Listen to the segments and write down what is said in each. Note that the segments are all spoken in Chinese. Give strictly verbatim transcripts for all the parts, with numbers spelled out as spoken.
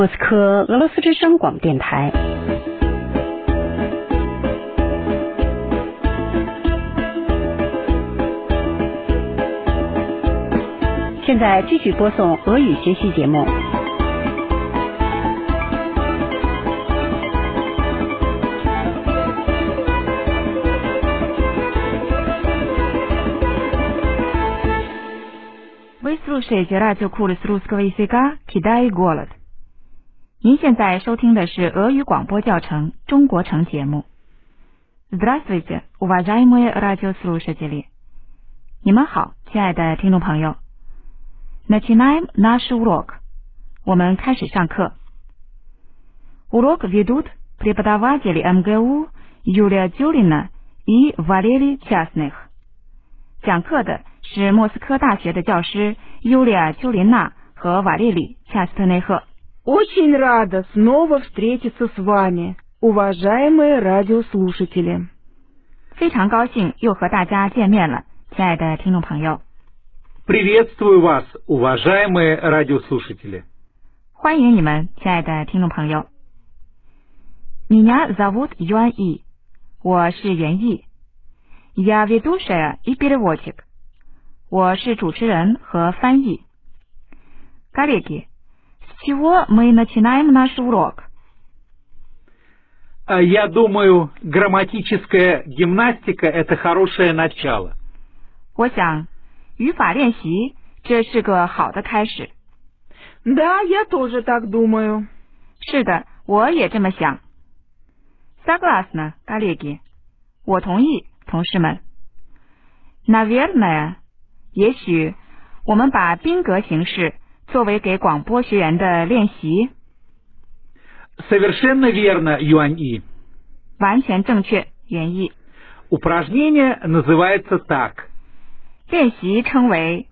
莫斯科俄罗斯之声广播电台。现在继续播送俄语学习节目。 Вы слушаете радиокурс русского языка «Кидай голод». 您现在收听的是俄语广播教程中国城节目。Здравствуйте, уважаемые радиослушатели. 你们好，亲爱的听众朋友。Начинаем наш урок. 我们开始上课。Урок ведут преподаватели эм гэ у Юлия Тюлина и Валерий Частных. 讲课的是莫斯科大学的教师尤利亚·丘琳娜和瓦列里·恰斯特内赫。 Очень рада снова встретиться с вами, уважаемые радиослушатели. 非常高兴又和大家见面了，亲爱的听众朋友。 Приветствую вас, уважаемые радиослушатели. 欢迎你们，亲爱的听众朋友。Меня зовут Юан И， 我是袁毅。Я ведущая и переводчик， 我是主持人和翻译。Коллеги, с чего мы начинаем наш урок? Я думаю, грамматическая гимнастика – это хорошее начало. 我想，语法练习这是个好的开始。 Да, я тоже так думаю. 是的，我也这么想。Согласна, коллеги. 我同意，同事们。Наверное, 也许我们把宾格形式作为给广播学员的练习。 Совершенно верно, Юань И. 完全正确，袁毅。 Упражнение называется так. 练习称为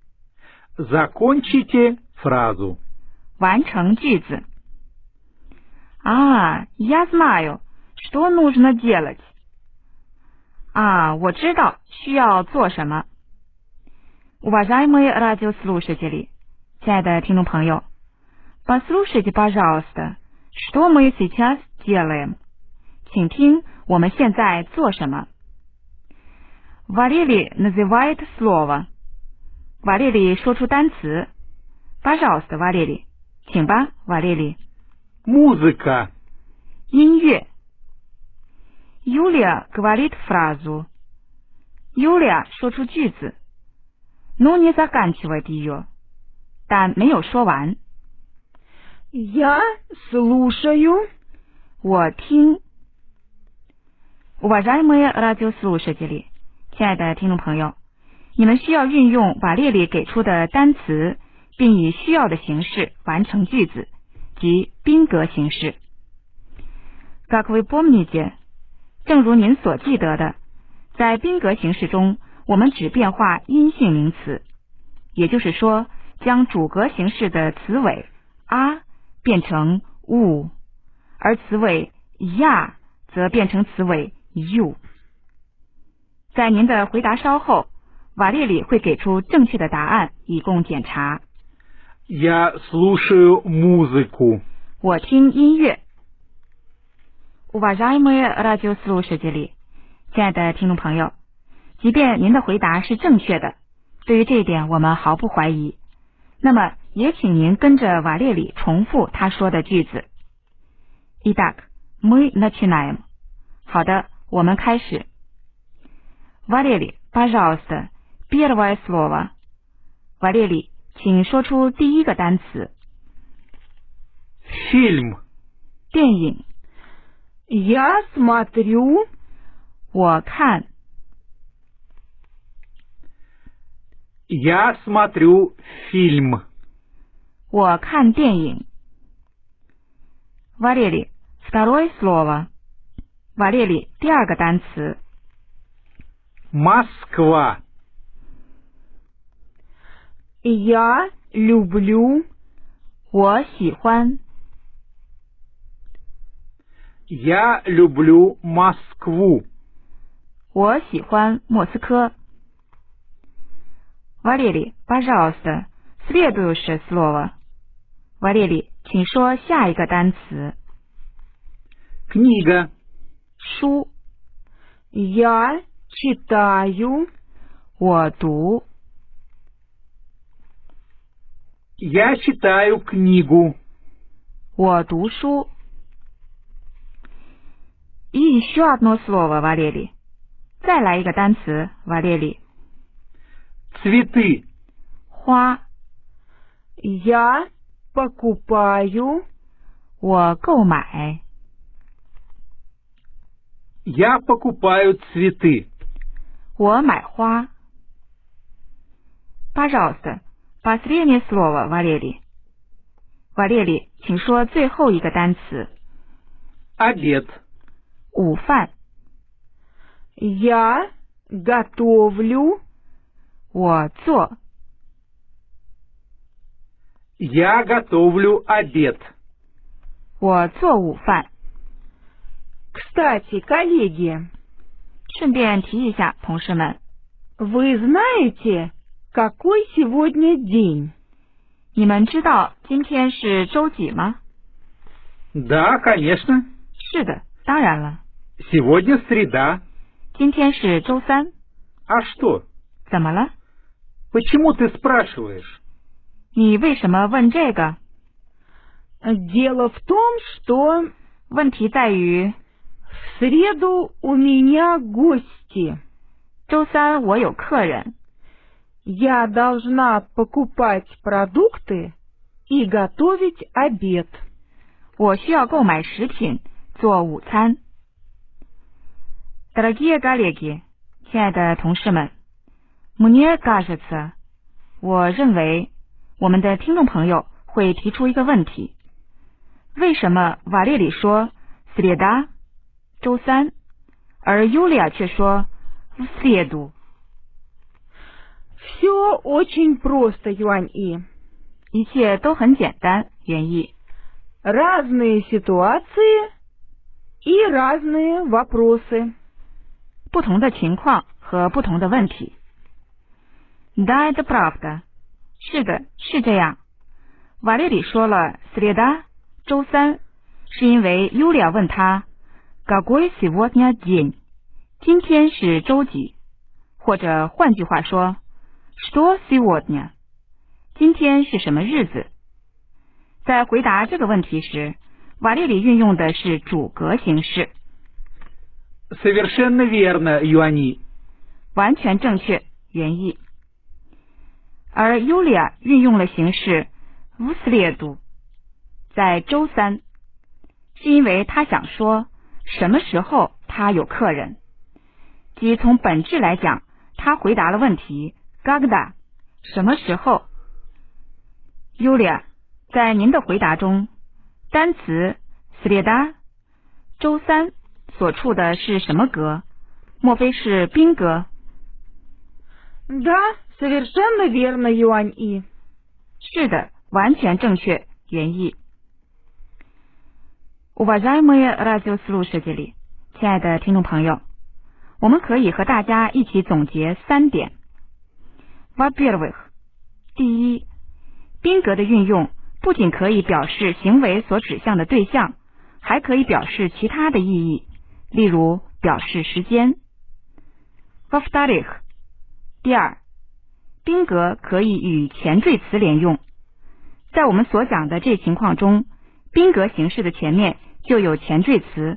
Закончите фразу. 完成句子。А, я знаю, что нужно делать. 啊，我知道需要做什么。Уважаемые радиослушатели, 亲爱的听众朋友 послушайте, пожалуйста, что мы сейчас делаем. 请听我们现在做什么。Валерий называет слово. 瓦列里说出单词。Пожалуйста, Валерий. 请吧，瓦列里。 Музыка. 音乐。Юлия говорит фразу. Юлия 说出句子。Но не заканчивает ее. 但没有说完。 Я слушаю. 我听。Уважаемые радиослушатели, 亲爱的听众朋友，你们需要运用瓦列里给出的单词，并以需要的形式完成句子，即宾格形式。Как вы помните, 正如您所记得的，在宾格形式中，我们只变化阴性名词，也就是说，将主格形式的词尾 a 变成 u， 而词尾 ya 则变成词尾 u。在您的回答稍后，瓦列里会给出正确的答案，以供检查。 Я слушаю музыку. 我听音乐。Уважаемые радиослушатели, 亲爱的听众朋友，即便您的回答是正确的，对于这一点我们毫不怀疑。那么，也请您跟着瓦列里重复他说的句子。Итак, мы начинаем. 好的，我们开始。Валерий, пожалуйста, первое слово. 瓦列里，请说出第一个单词。 Фильм. 电影。 Я смотрю. 我看。 Я смотрю фильм. 我看电影。Валерий, второе слово. 瓦列里，第二个单词。 Москва. Я люблю. 我喜欢。 Я люблю Москву. 我喜欢莫斯科。Валерий, пожалуйста, следующее слово. 瓦列里， 请说下一个单词。 Книга. 书。 Я читаю. 我读。 Я читаю книгу. 我读书。И еще одно слово, Валерий. 再来一个单词，瓦列里。 Цветы. 花。 Я покупаю. 我购买。 Я покупаю цветы. 我买花。Пожалуйста, последнее слово, Валерий. 瓦列里，请说最后一个单词。 Обед. 午饭。 Я готовлю. 我做。 Я готовлю обед. 我做午饭。 Кстати, коллеги, 顺便提一下，同事们， вы знаете, какой сегодня день? 你们知道今天是周几吗？ Да, конечно. 是的，当然了。 Сегодня среда. 今天是周三。 А что? 怎么了？ Почему ты спрашиваешь? 你为什么问这个？ Дело в том, что 问题在于， в среду у меня гости. 周三我有客人， Я должна покупать продукты и готовить обед. 我需要购买食品做午餐。Дорогие коллеги， 亲爱的同事们 ，Мне кажется， 我认为我们的听众朋友会提出一个问题：为什么瓦列里说 среда 周三，而尤利亚却说 в среду？ Все очень просто, Юань И. 一切都很简单，原意。 Разные ситуации и разные вопросы. 不同的情况和不同的问题。Да, это правда. 是的，是这样。瓦列里说了 среда 周三，是因为尤利亚问他 какой сегодня день 今天是周几，或者换句话说 что сегодня 今天是什么日子。在回答这个问题时，瓦列里运用的是主格形式。 Совершенно верно, Юани. 完全正确，原意。而尤利亚运用了形式 в среду 在周三，是因为他想说什么时候他有客人，即从本质来讲，他回答了问题 когда 什么时候。尤利亚，在您的回答中，单词 среда 周三所处的是什么格？莫非是宾格？ Да, совершенно верно, Юань И. 是的，完全正确，原意。Уважаемые радиослушатели， 亲爱的听众朋友，我们可以和大家一起总结三点。Во-первых， 第一，宾格的运用不仅可以表示行为所指向的对象，还可以表示其他的意义，例如表示时间。Во-вторых， 第二，宾格可以与前缀词连用。在我们所讲的这情况中，宾格形式的前面就有前缀词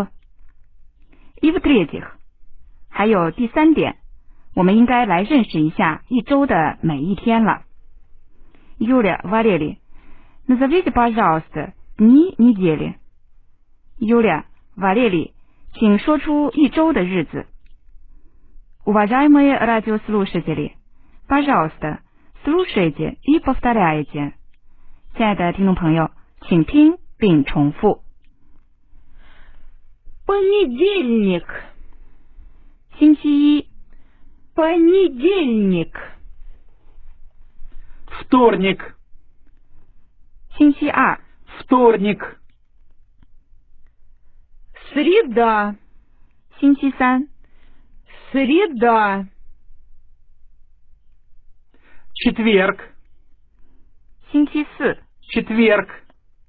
в。И в-третьих， 还有第三点，我们应该来认识一下一周的每一天了。Юля, Валерий, назовите, пожалуйста, дни недели. Юля, Валерий, 请说出一周的日子。Уважаемые радиослушатели, пожалуйста, слушайте и повторяйте. 亲爱的听众朋友，请听并重复。 Понедельник. 星期一。 Понедельник. Вторник. 星期二。 Вторник. Среда. 星期三。 Среда. Четверг. 星期四。 Четверг.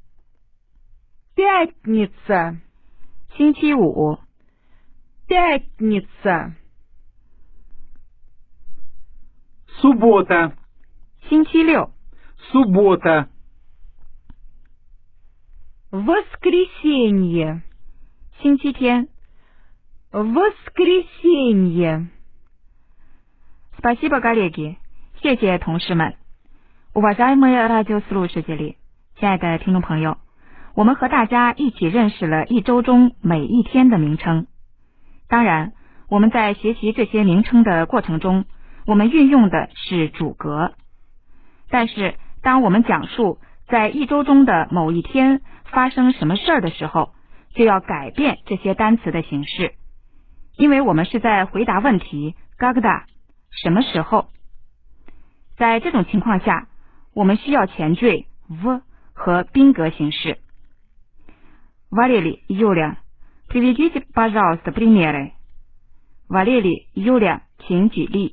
Пятница. 星期五， Пятница. Суббота. 星期六， Суббота. Воскресенье. 星期天。 Воскресенье. Спасибо, коллеги， 谢谢同事们。Уважаемые радиослушатели， 亲爱的听众朋友，我们和大家一起认识了一周中每一天的名称。当然，我们在学习这些名称的过程中，我们运用的是主格。但是，当我们讲述在一周中的某一天发生什么事儿的时候，就要改变这些单词的形式，因为我们是在回答问题 когда 什么时候。在这种情况下，我们需要前缀 в 和宾格形式。Валерий, Юля, приведите, пожалуйста, примеры. Валерий, Юля, 请举例。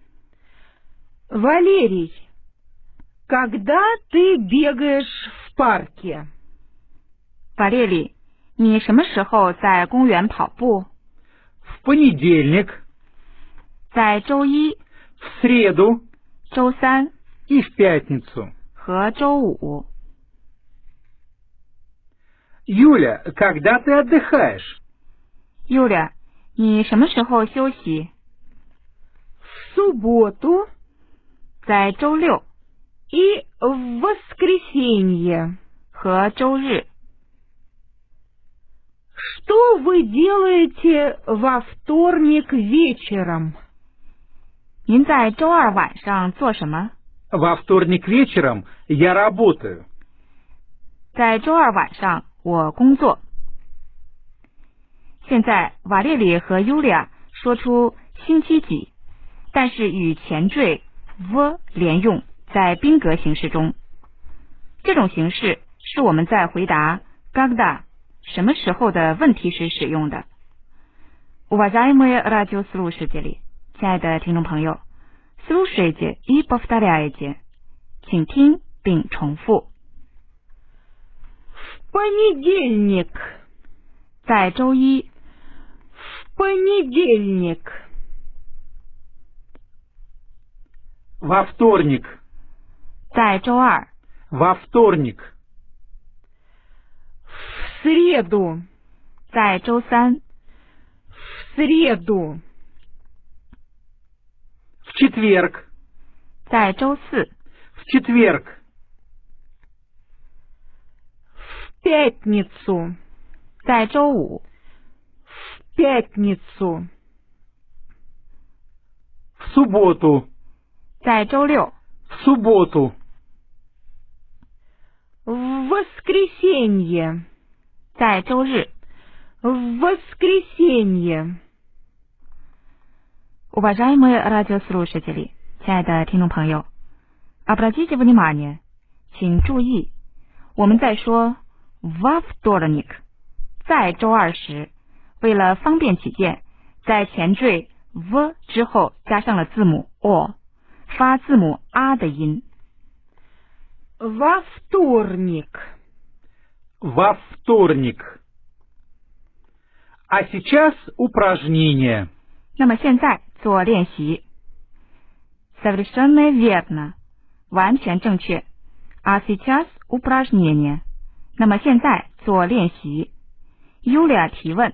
Валерий, когда ты бегаешь в парке? Валерий, 你什么时候在公园跑步？ В понедельник, 在周一、 в среду 周三 и в пятницу. 和周五。 Юля, когда ты отдыхаешь? Юля, 你什么时候休息？ В субботу 在周六 и в воскресенье. 和周日。 Что вы делаете во вторник вечером? 您在周二晚上做什么？ Во вторник вечером я работаю. 在周二晚上我工作。现在瓦列里和尤利亚说出星期几，但是与前缀 v 连用，在宾格形式中。这种形式是我们在回答 когда 什么时候的问题时使用的。Уважаемые радиослушатели， 亲爱的听众朋友 ，слушайте и повторяйте， 请听并重复。 В понедельник. 在周一。 В понедельник. Во вторник. 在周二。 Во вторник. В среду. 在周三。 В среду. В четверг. 在周四。 В четверг. В пятницу. 在周五。 В пятницу. В субботу. 在周六。 В субботу. В воскресенье. 在周日。 В воскресенье. Уважаемые радиослушатели， 亲爱的听众朋友 ，обратите внимание， 请注意，我们在说 во вторник， 在周二时，为了方便起见，在前缀 v 之后加上了字母 o， 发字母 r 的音。 Во вторник. Во вторник. А сейчас упражнение. 那么现在做练习。Совершенно верно， 完全正确。А сейчас упражнение。那么现在做练习。Юля 提问。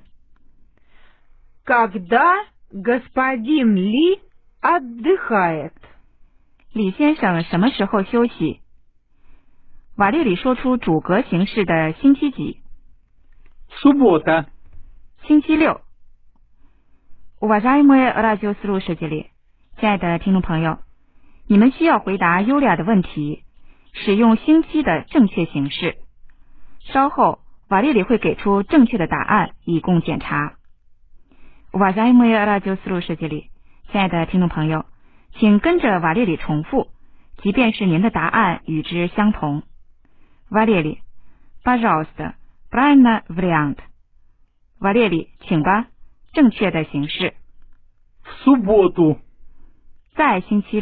Когда господин Ли отдыхает? 李先生什么时候休息？瓦列里说出主格形式的星期几？ Суббота. 星期六。Уважаемые радиослушатели， 亲爱的听众朋友，你们需要回答优雅的问题，使用星期的正确形式。稍后瓦列里会给出正确的答案，以供检查。Уважаемые радиослушатели， 亲爱的听众朋友，请跟着瓦列里重复，即便是您的答案与之相同。瓦列里 пожалуйста, правильный вариант。瓦列里，请吧，正确的形式。 В субботу. 在星期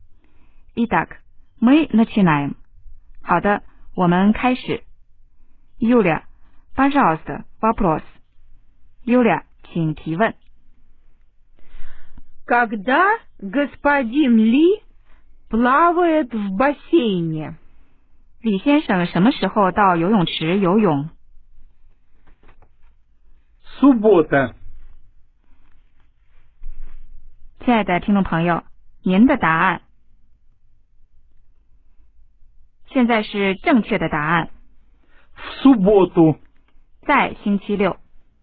六。Итак, мы начинаем。好的，我们开始。 Юля, пожалуйста, вопрос. Юля,请提问。 Когда господин Ли плавает в бассейне? 李先生什么时候到游泳池游泳？ Суббота. 亲爱的听众朋友，您的答案现在是正确的答案， В субботу. 在星期六。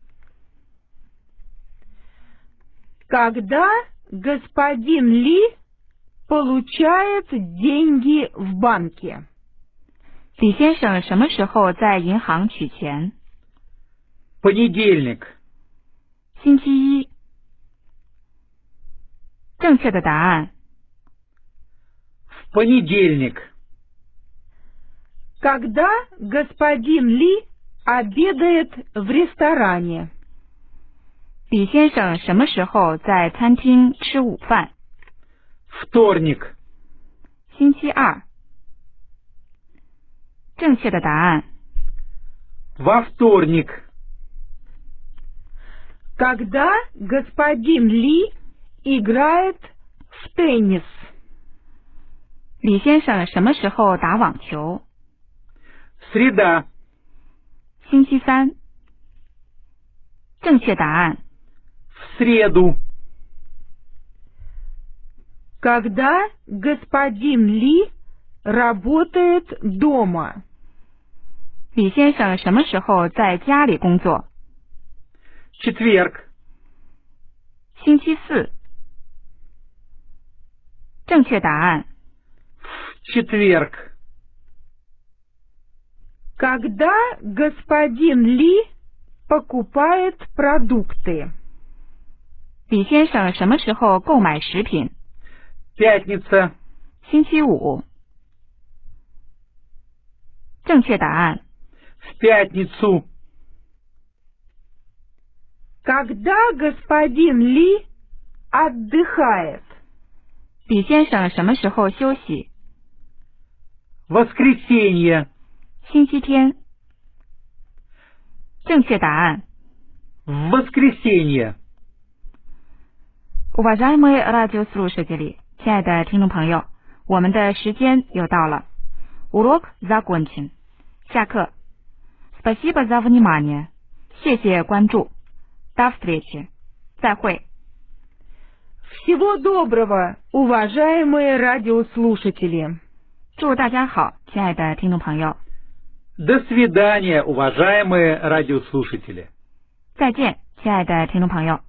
Когда господин Ли получает деньги в банке? 李先生什么时候在银行取钱？ Понедельник. 星期一。正确的答案 В понедельник. Когда господин Ли обедает в ресторане? 李先生什么时候在餐厅吃午饭？ Вторник. 星期二。正确的答案 Во вторник. Когда господин Ли играет в теннис? 李先生什么时候打网球？ Среда. 星期三。正确答案 В среду. Когда господин Ли работает дома? 李先生什么时候在家里工作？ Четверг. 星期四。正确答案 В четверг. Когда господин Ли покупает продукты? 李先生什么时候购买食品？ Пятница. 星期五。正确答案 В пятницу. Когда господин Ли отдыхает? 李先生什么时候休息？ Воскресенье. 星期天。正确答案 В воскресенье. Уважаемые радиослушатели， 亲爱的听众朋友，我们的时间又到了。Урок закончен。下课。Спасибо за внимание。谢谢关注。До встречи。再会。 Всего доброго, уважаемые радиослушатели. 祝大家好，亲爱的听众朋友。 До свидания, уважаемые радиослушатели. 再见，亲爱的听众朋友。